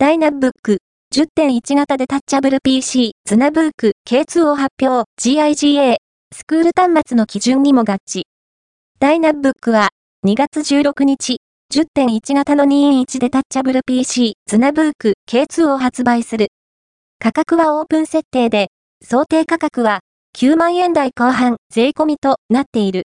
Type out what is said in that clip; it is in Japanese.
ダイナブック 10.1 型デタッチャブル PC ズナブーク K2 を発表 GIGA スクール端末の基準にも合致。ダイナブックは2月16日 10.1 型の2.1デタッチャブル PC ズナブーク K2 を発売する。価格はオープン設定で、想定価格は9万円台後半税込みとなっている。